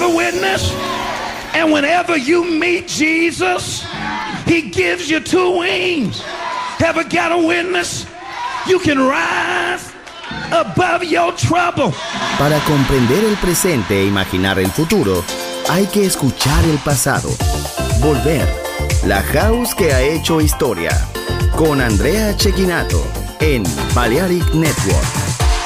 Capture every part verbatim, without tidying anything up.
a witness? And whenever you meet Jesus, he gives you two wings. Ever got a witness? You can rise above your trouble. Para comprender el presente e imaginar el futuro, hay que escuchar el pasado. Volver. La house que ha hecho historia. Con Andrea Cecchinato en Balearic Network.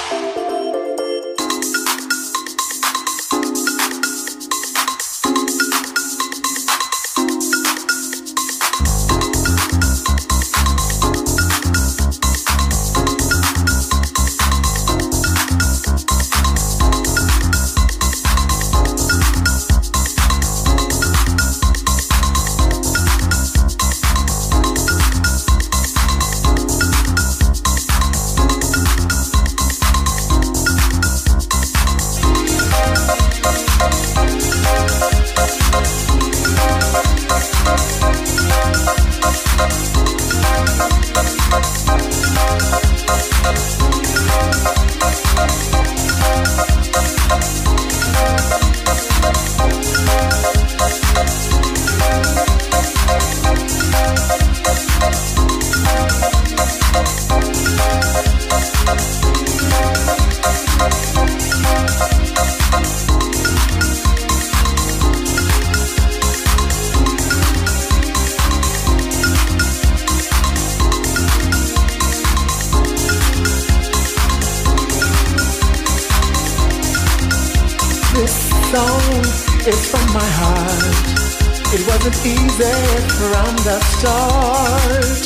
It's from my heart. It wasn't easy from the start.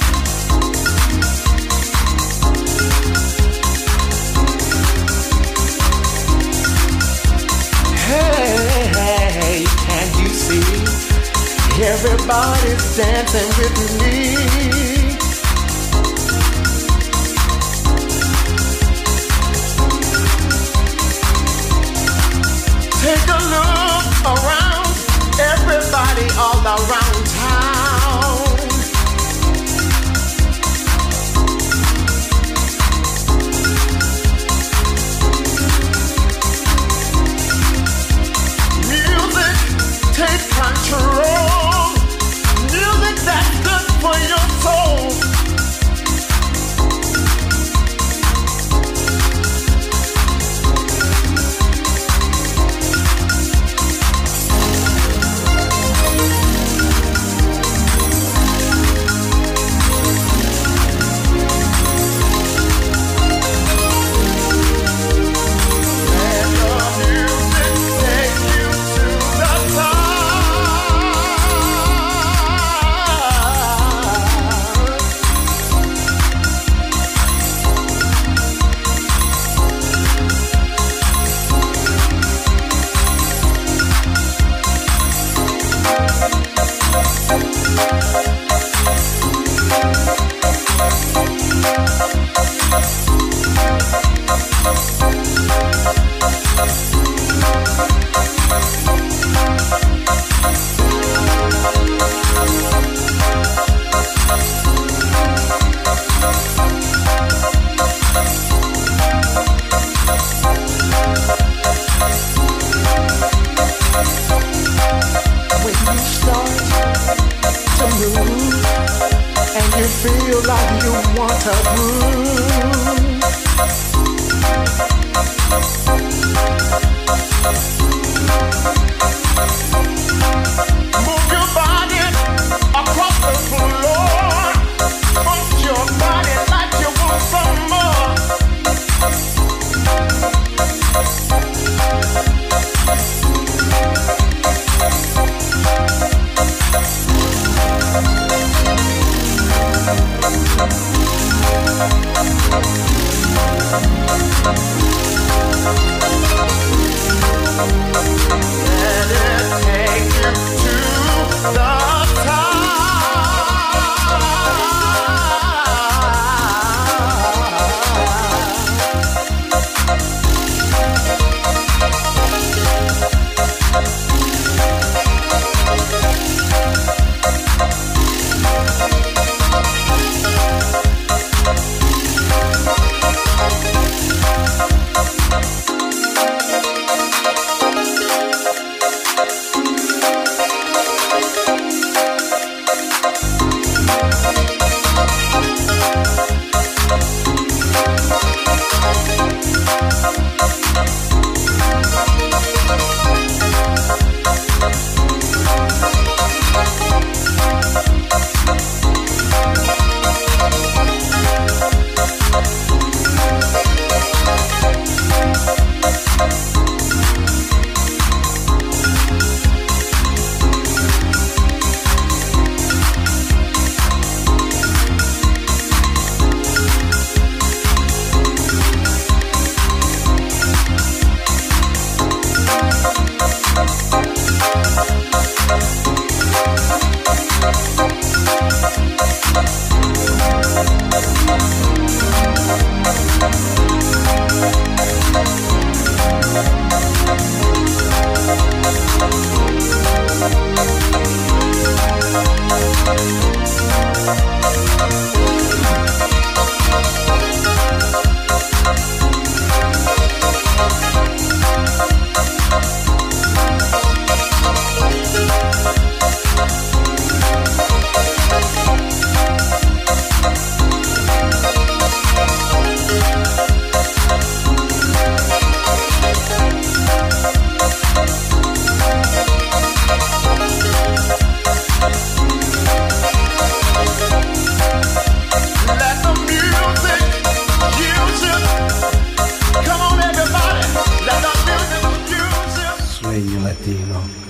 Hey, hey, can't you see? Everybody's dancing with me. Take a look around, everybody all around town. Music, take control. Music that's good for your soul. Feel like you want to groove. Move your body across the floor. Punch your body like you want some more. We'll be right back. Regno Latino.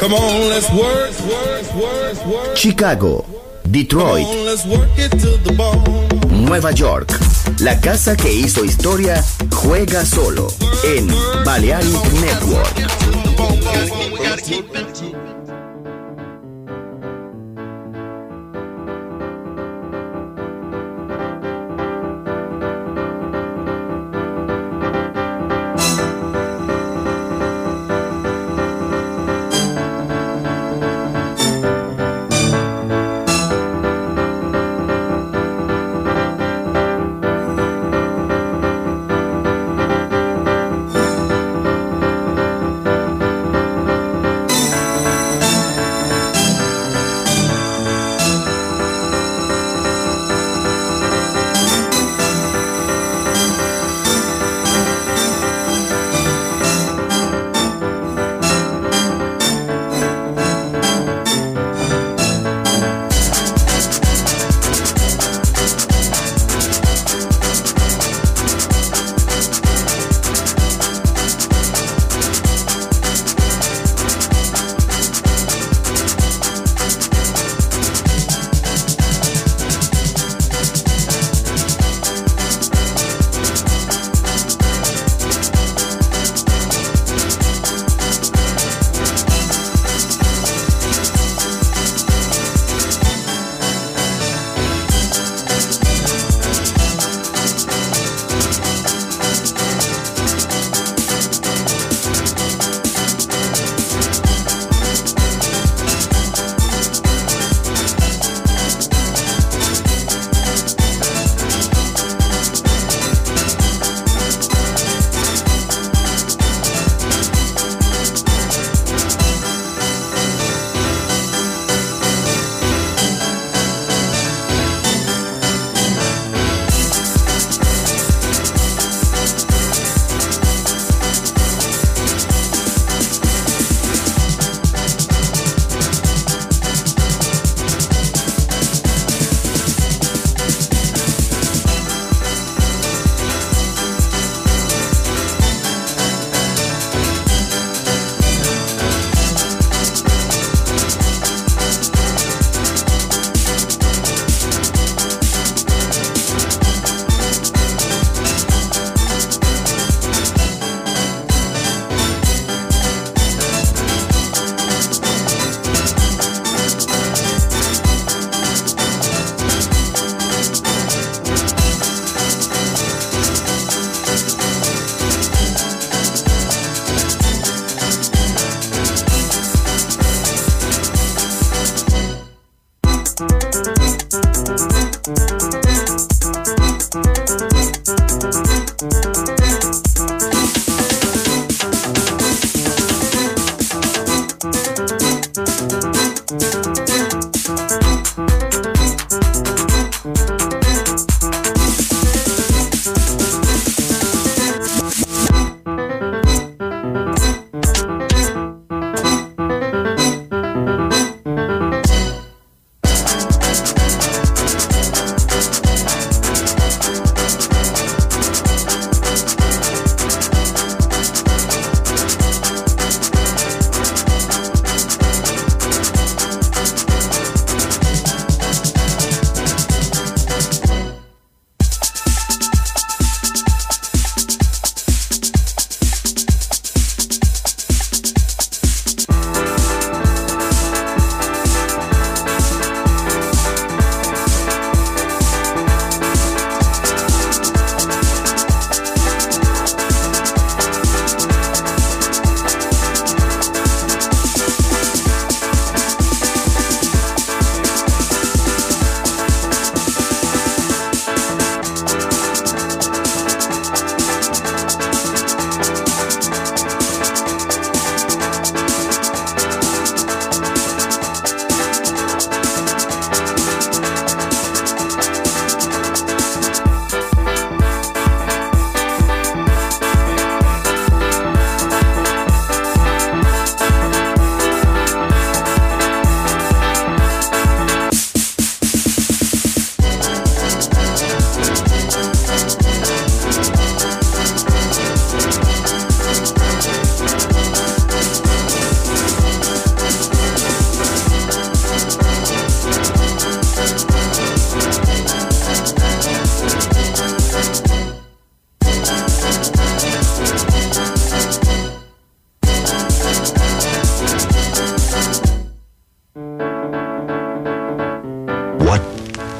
Come on, let's work, work, work, work. Chicago, Detroit, Come on, let's work it to the bone. Nueva York. La casa que hizo historia juega solo en Balearic Network.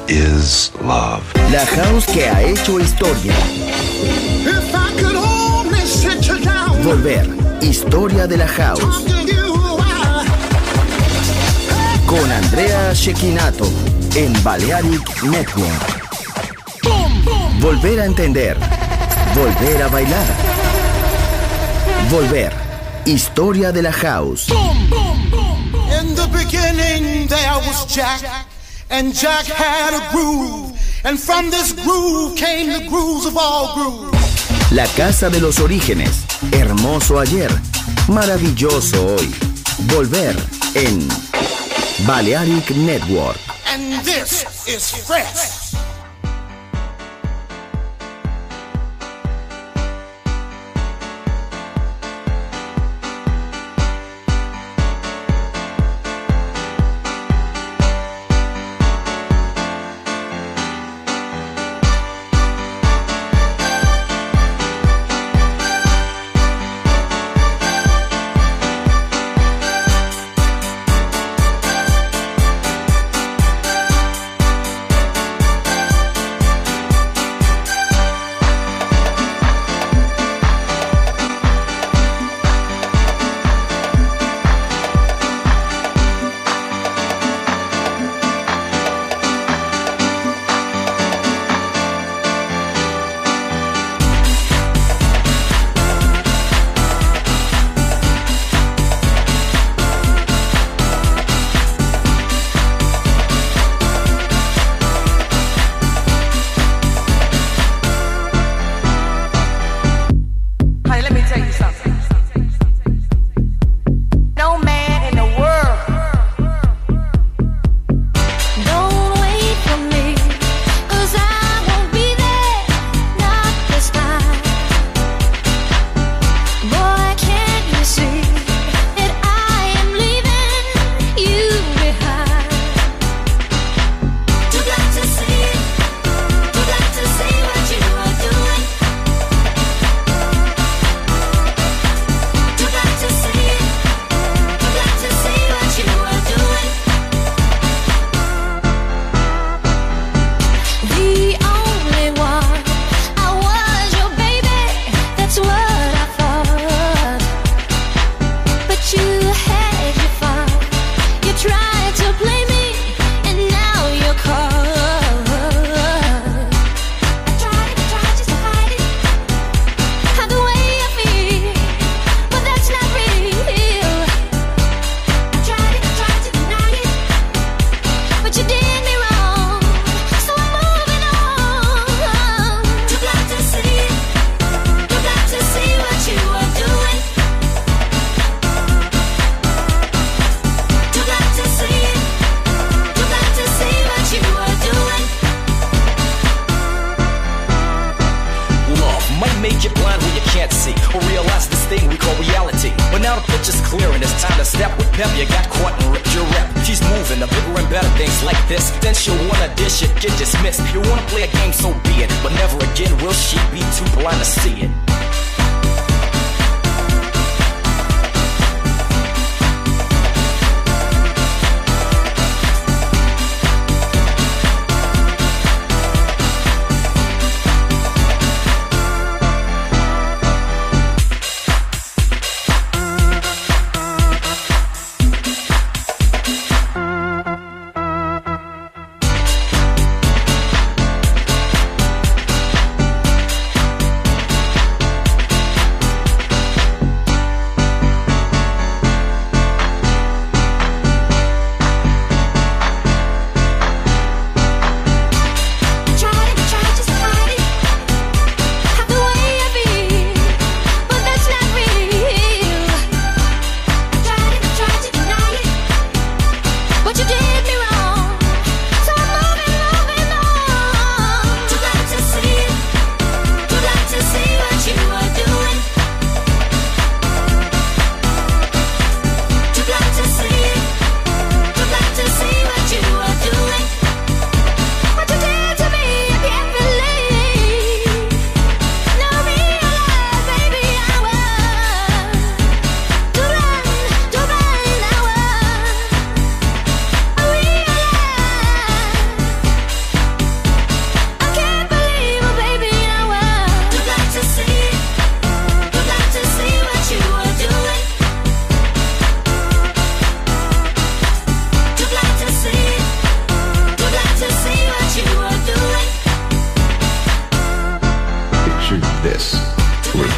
is love. La house que ha hecho historia. If I could only sit you down. Volver. Historia de la house. Con Andrea Cecchinato en Balearic Network. Volver a entender. Volver a bailar. Volver. Historia de la house. In the beginning there was Jack, and Jack had a groove, and from this groove came the grooves of all grooves. La casa de los orígenes. Hermoso ayer, maravilloso hoy. Volver en Balearic Network. And this is fresh.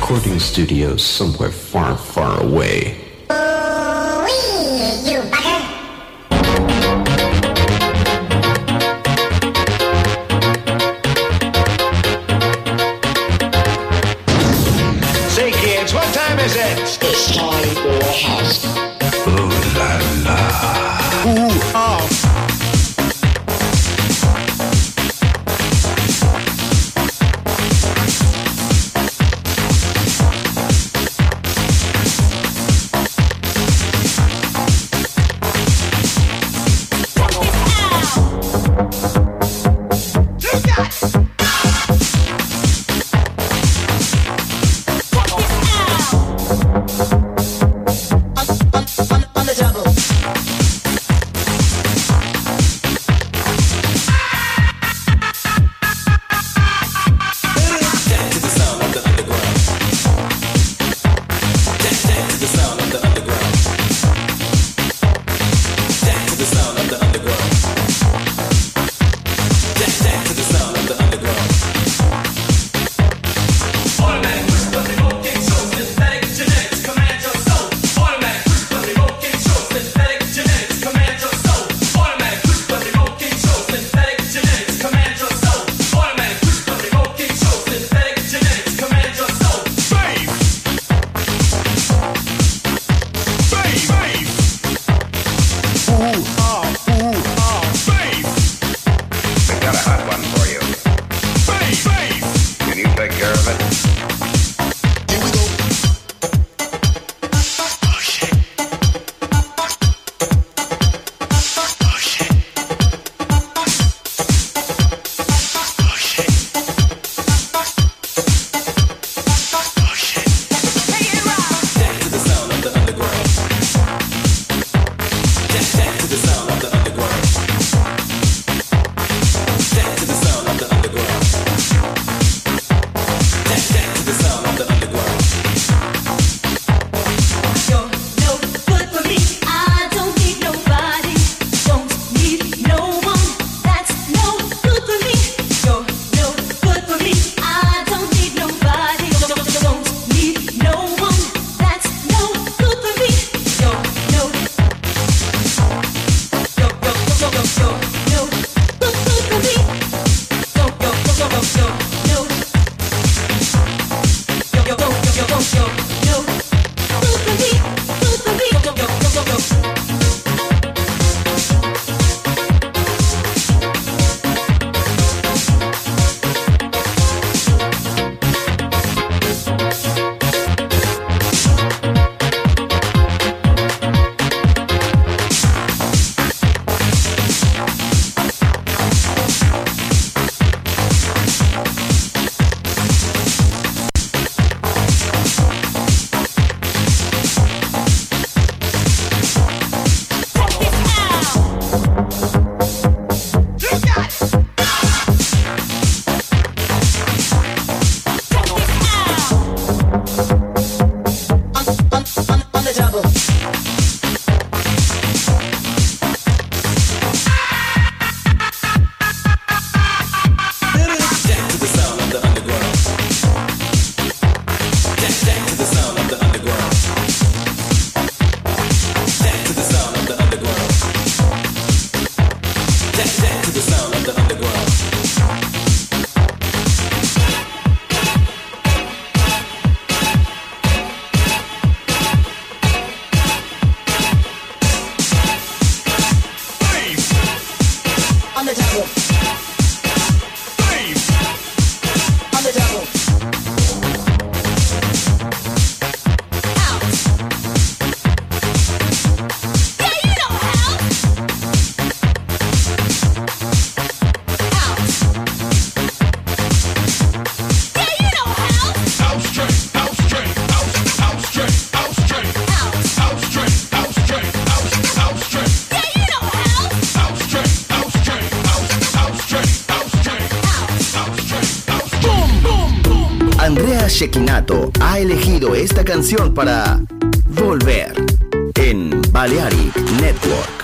recording studios somewhere far, far away. You bugger! Say, kids, what time is it? It's time for a house. Ooh la la. Ooh, ah. Andrea Cecchinato ha elegido esta canción para Volver en Balearic Network.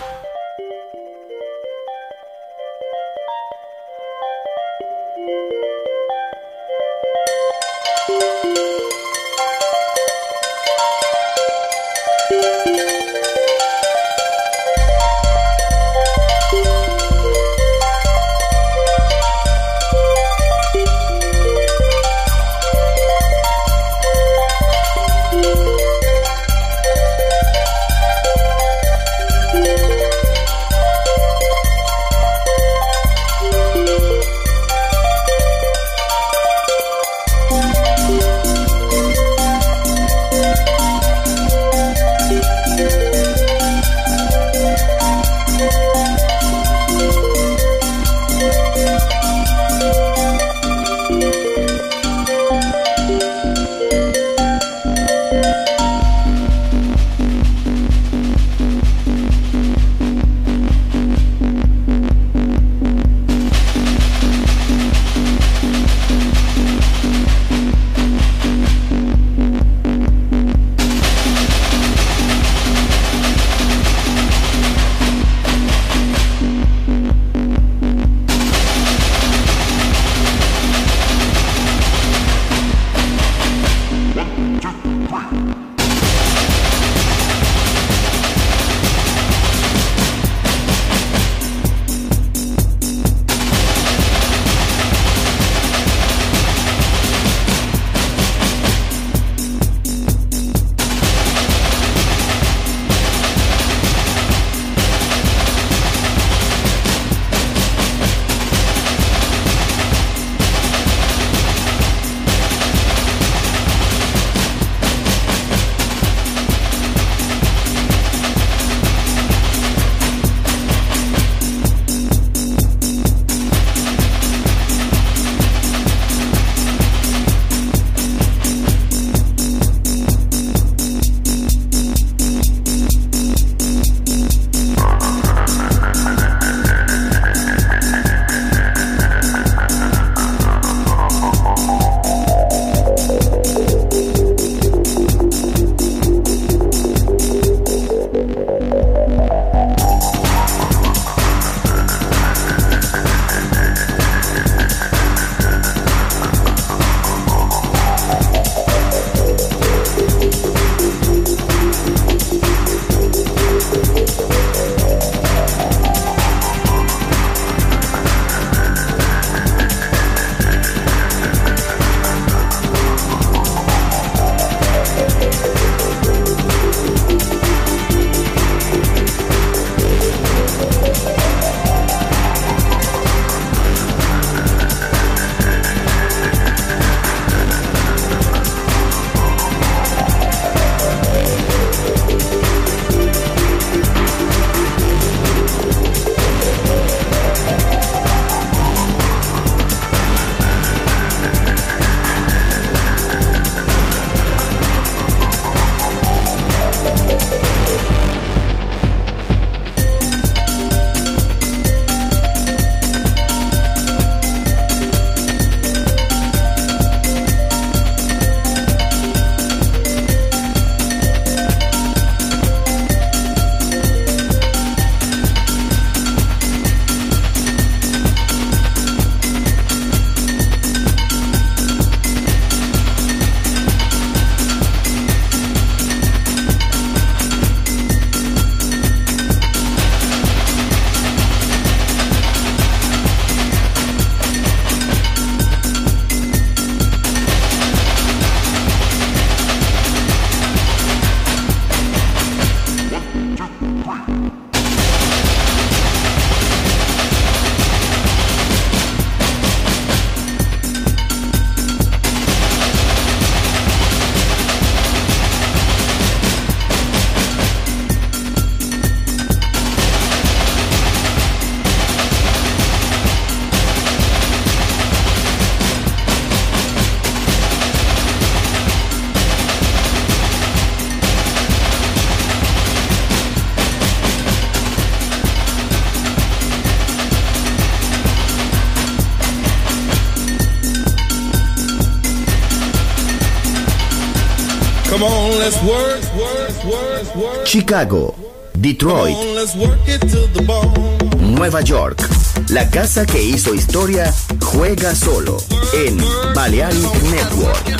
on, let's work, work, work, work. Chicago, Detroit, Come on, let's work it to the bone. Nueva York. La casa que hizo historia juega solo en Balearic Network.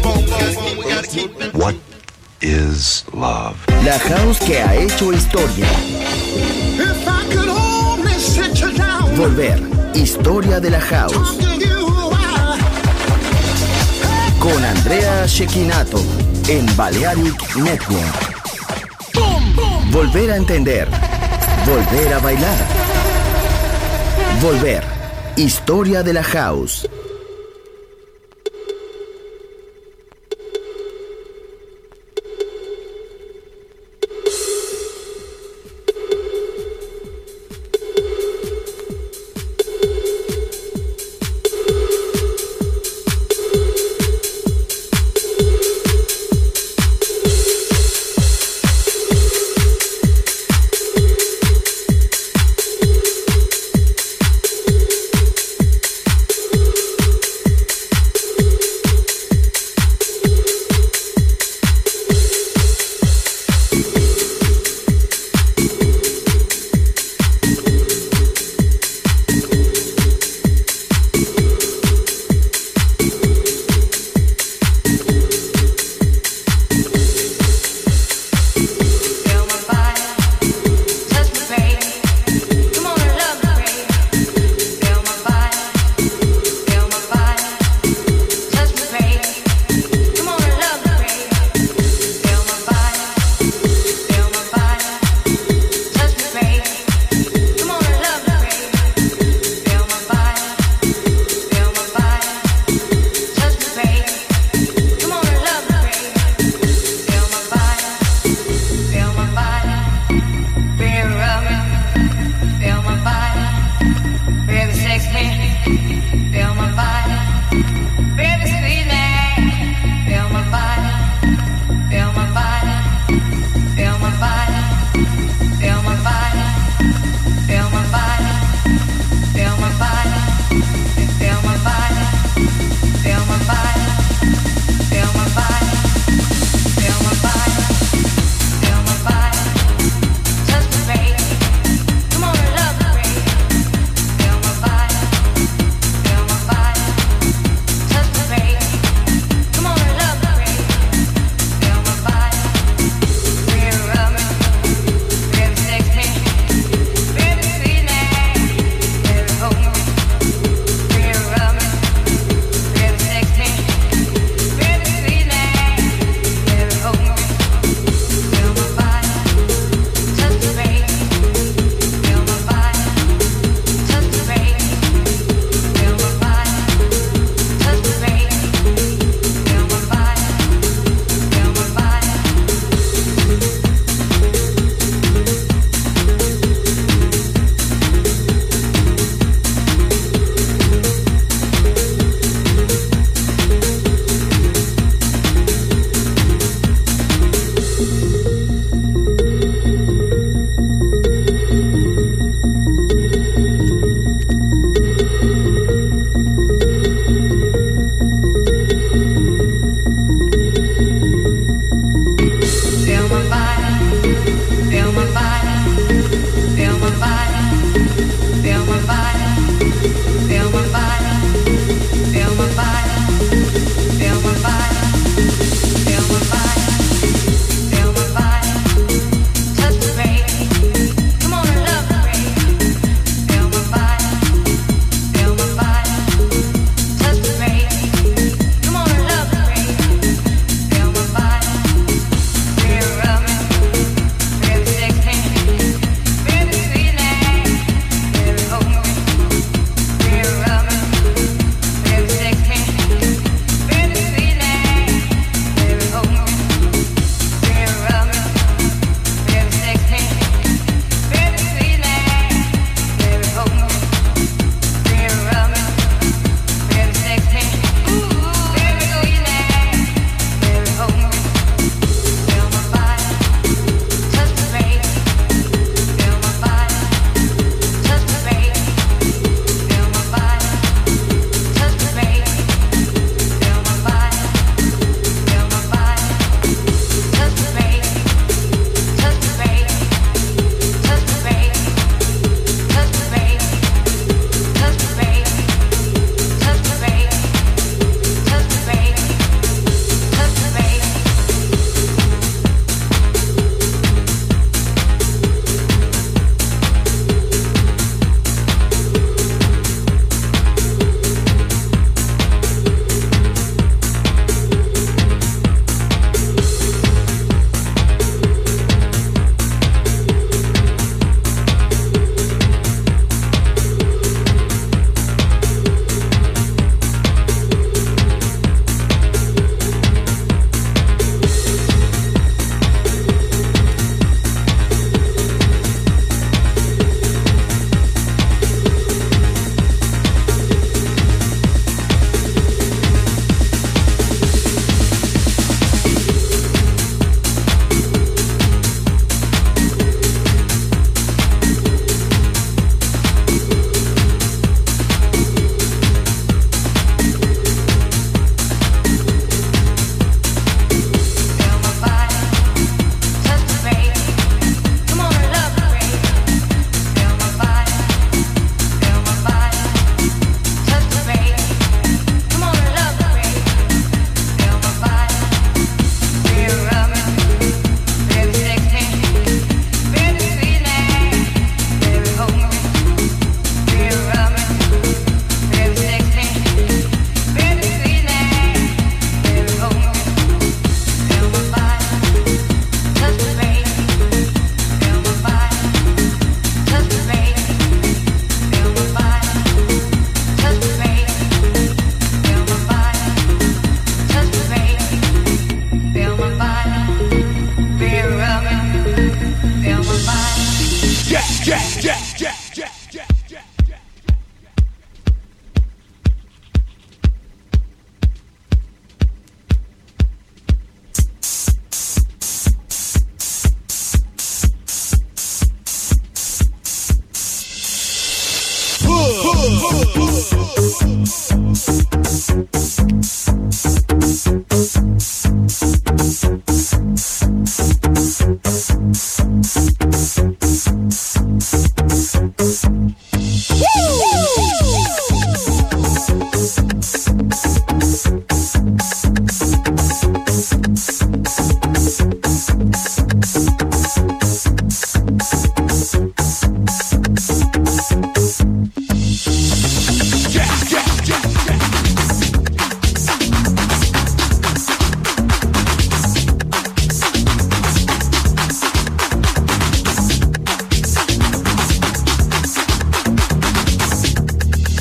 What is love? La house que ha hecho historia. If I could only sit you down, Volver. Historia de la house. talk to you while Con Andrea Cecchinato en Balearic Network. Volver a entender. Volver a bailar. Volver. Historia de la house.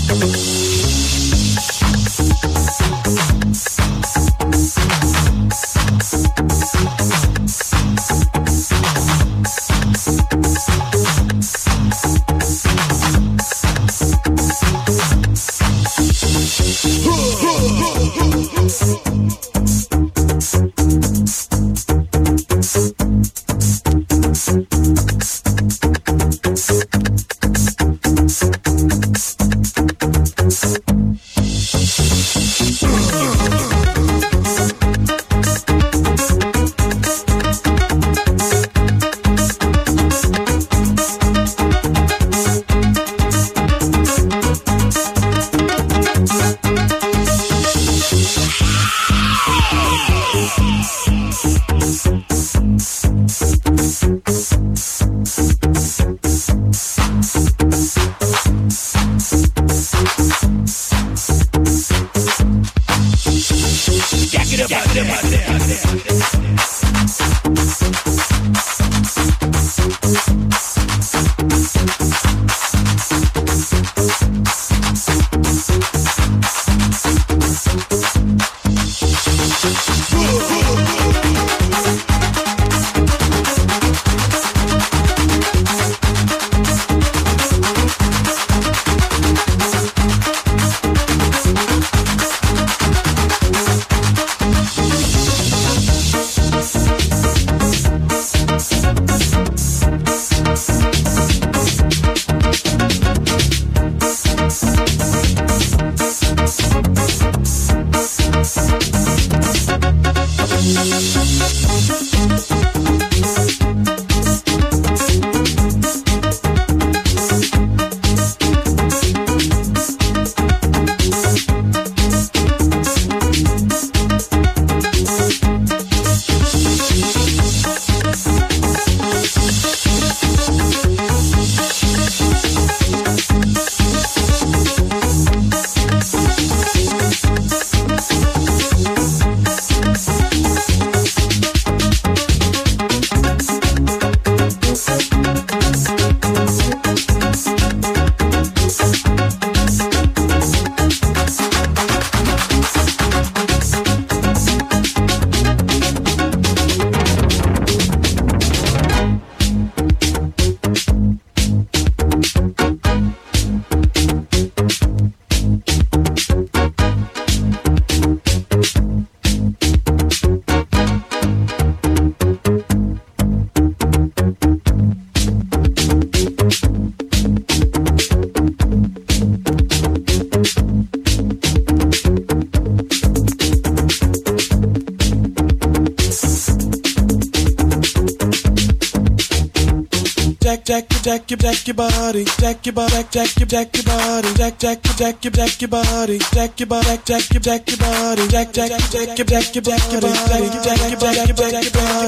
jack, jack, jack, jack your body, jack your body, jack, jack, jack your body, jack, jack, jack, jack your body, jack your body, jack, jack your body, jack, jack, jack, jack your body, jack your body, jack, jack, jack your body,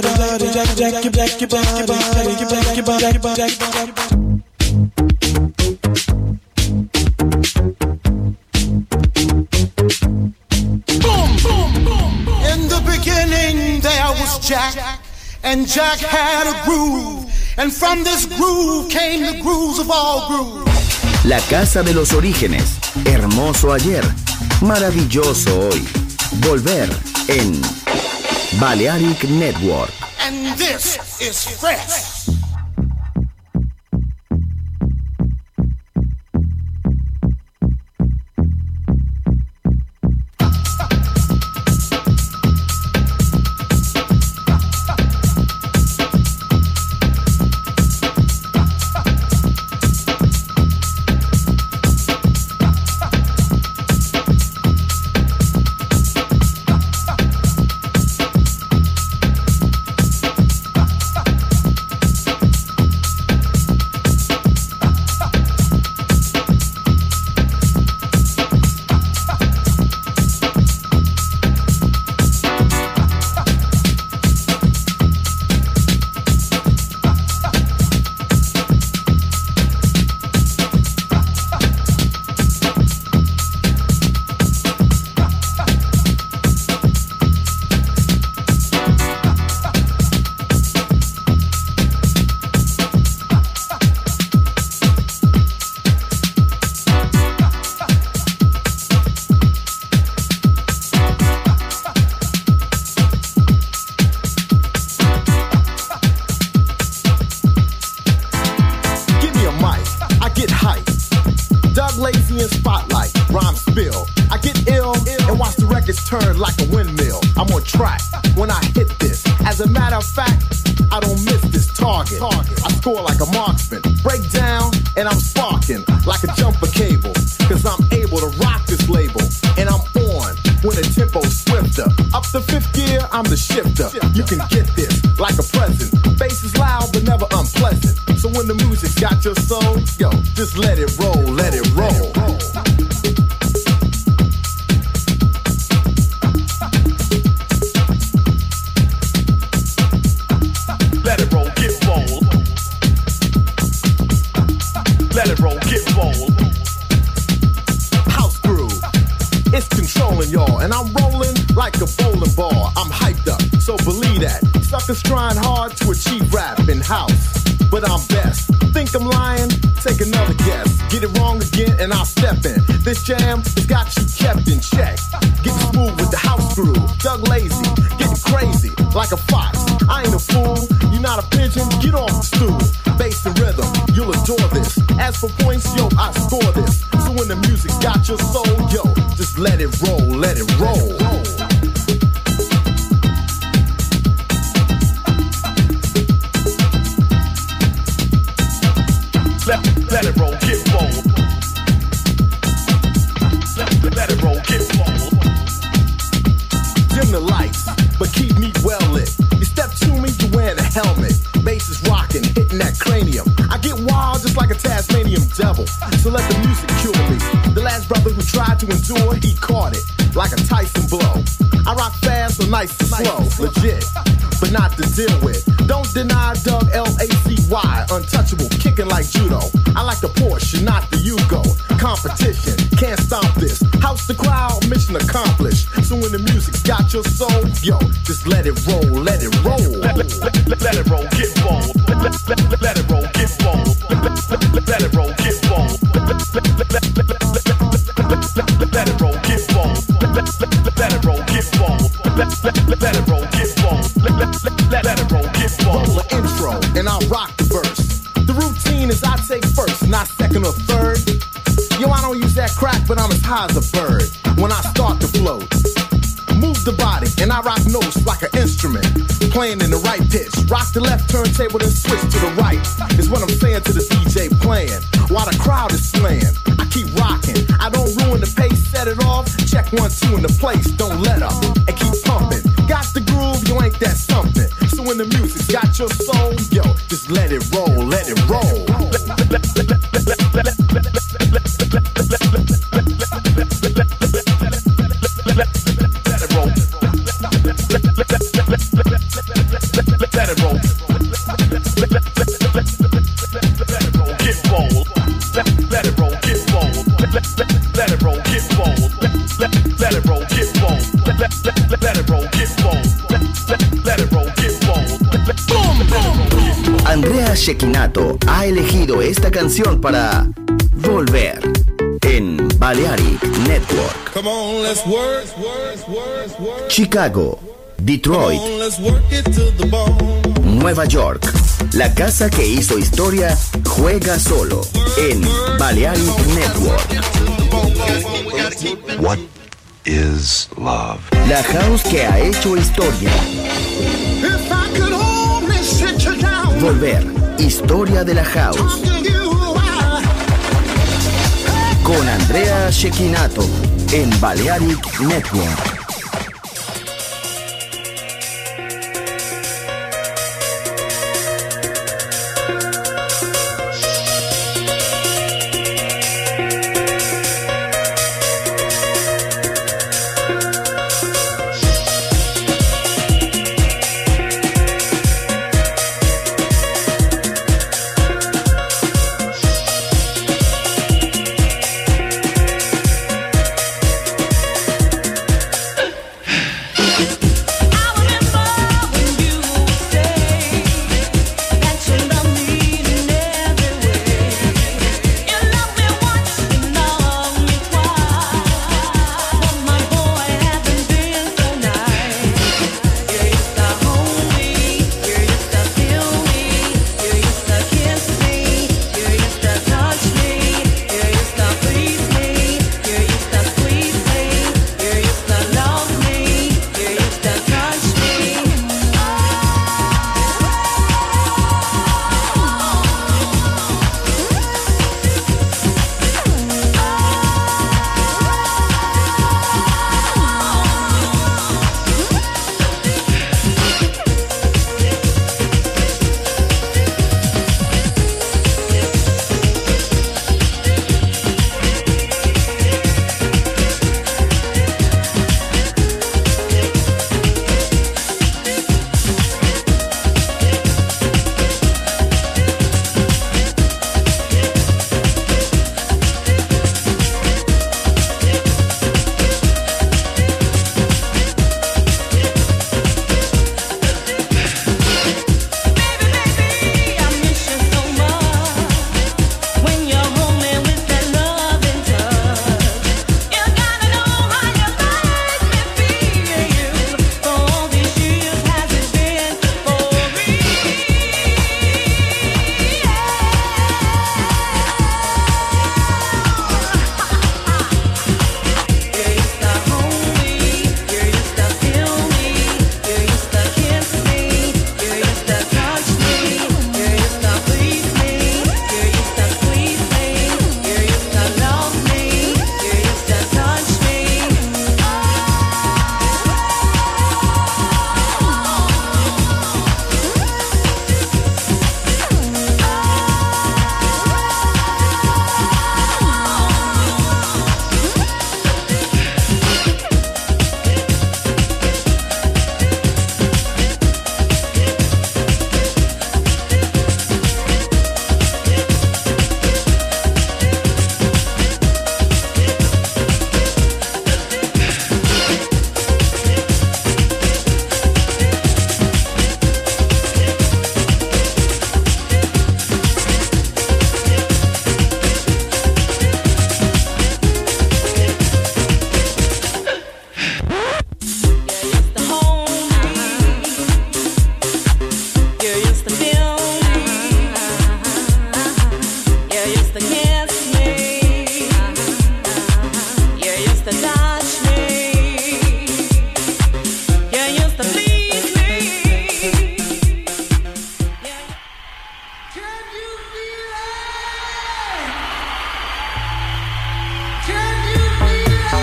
jack, jack, jack your body, jack your body, jack your body. Jack, and Jack had a groove, and from this groove came the grooves of all grooves. La casa de los orígenes, hermoso ayer, maravilloso hoy. Volver en Balearic Network. And this is fresh. spill. I get ill and watch the records turn like a windmill. I'm on track when I hit this. As a matter of fact, I don't miss this target. I score like a marksman. Break down and I'm sparking like a jumper cable. Cause I'm able to rock this label. And I'm on when the tempo's swifter. Up to fifth gear, I'm the shifter. You can get this like a present. Bass is loud but never unpleasant. So when the music's got your soul, yo, just let it roll, let it roll. Let it roll, get bold. Let it roll, get bold. House groove, it's controlling y'all. And I'm rolling like a bowling ball. I'm hyped up, so believe that. Suckers trying hard to achieve rap in house, but I'm best. Think I'm lying? Take another guess. Get it wrong again and I'll step in. This jam has got you kept in check. Getting smooth with the house groove. Doug Lazy, getting crazy like a fox. I ain't a fool, you're not a pigeon, get off the stool. Bass and rhythm, you'll adore this. As for points, yo, I score this. So when the music's got your soul, yo, just let it roll, let it roll. Let, let it roll, get bold. Let, let it roll, get bold. Dim the lights, but keep me well lit. You step to me, you're wearing a helmet. Bass is rocking, hitting that cranium. I get wild just like a Tasmanian devil. So let the music cure me. The last brother who tried to endure, he caught it like a Tyson blow. I rock fast, so nice and slow, legit, but not to deal with. Don't deny Doug L A C Y, untouchable, kicking like judo. I like the Porsche, not the Yugo. Competition, can't stop this. House the crowd, mission accomplished. So when the music's got your soul, yo, just let it roll, let it roll. Let, let, let, let, let it roll, get bold. Let, let, let, let it roll, get bold. Let, let, let, let it roll, get bold. Let, let, let, let, let, let, let, let it roll, get bold. Let, let, let, let it roll, get bold. Let, let, let, let it roll, get bold. Let, let, let, let it roll, get bold. Roll the intro, and I'll rock the verse. The routine is I take first, not second or third. Yo, I don't use that crack, but I'm as high as a bird when I start to float. Move the body, and I rock notes like an instrument, playing in the right pitch. Rock the left turntable, then switch to the right, is what I'm saying to the D J playing, while the crowd is slaying. I keep rocking, I don't ruin the pace, set it off, check one, two in the place, don't let up, and keep pumping. Got the groove, you ain't that something. So when the music's got your soul, yo, just let it roll, let it roll. Andrea Cecchinato ha elegido esta canción para Volver en Balearic Network. Come on, let's work, work, work, work. Chicago, Detroit, Come on, let's work it to the bone. Nueva York. La casa que hizo historia juega solo en Balearic Network. What is love? La house que ha hecho historia. If I could only sit you down. Volver, historia de la house. Con Andrea Cecchinato en Balearic Network. used to touch me. You used to please me. Can you feel it? Can you feel it?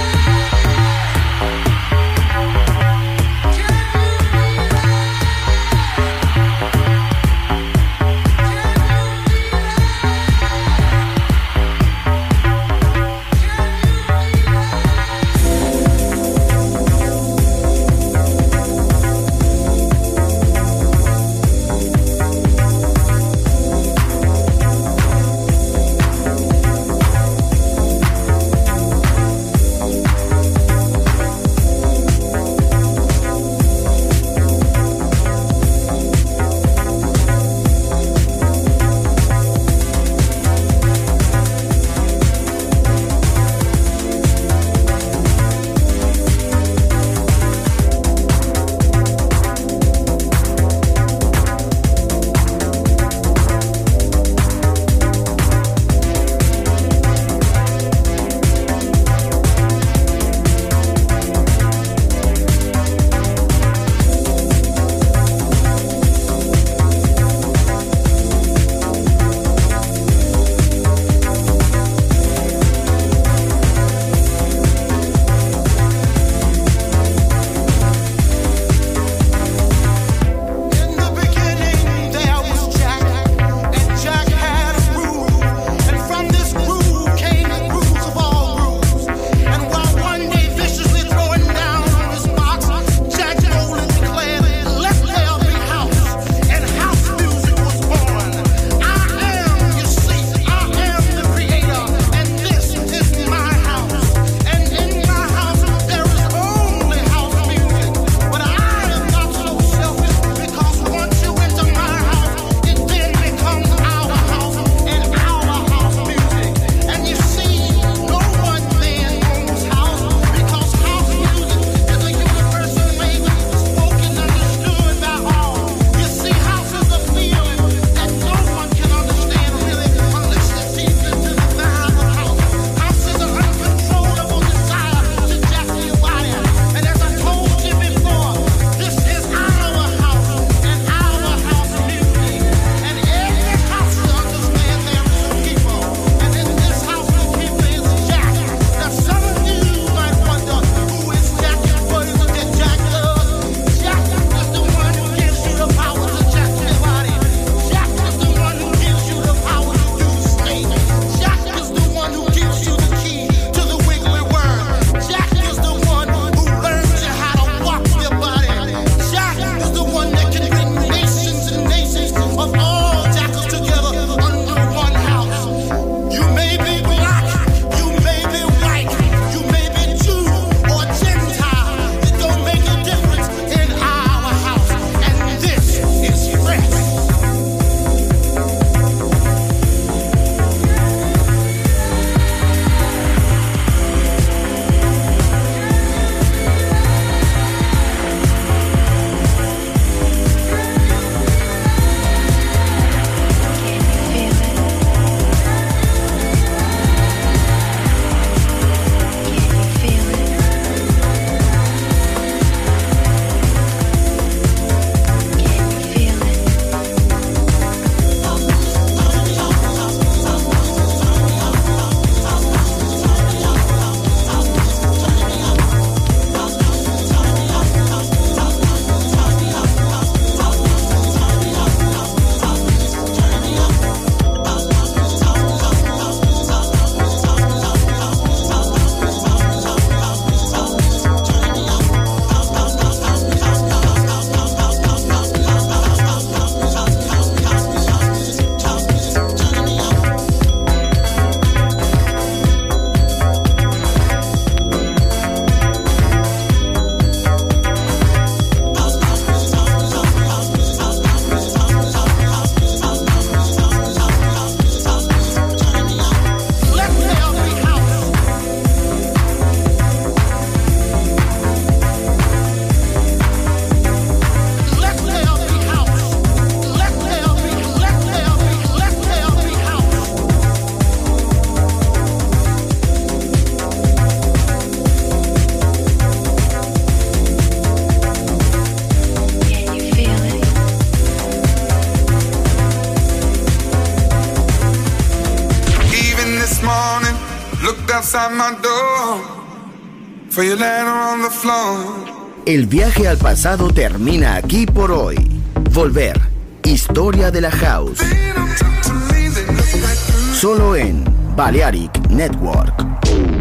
outside my door for your letter on the floor. El viaje al pasado termina aquí por hoy. Volver. Historia de la House. Solo en Balearic Network.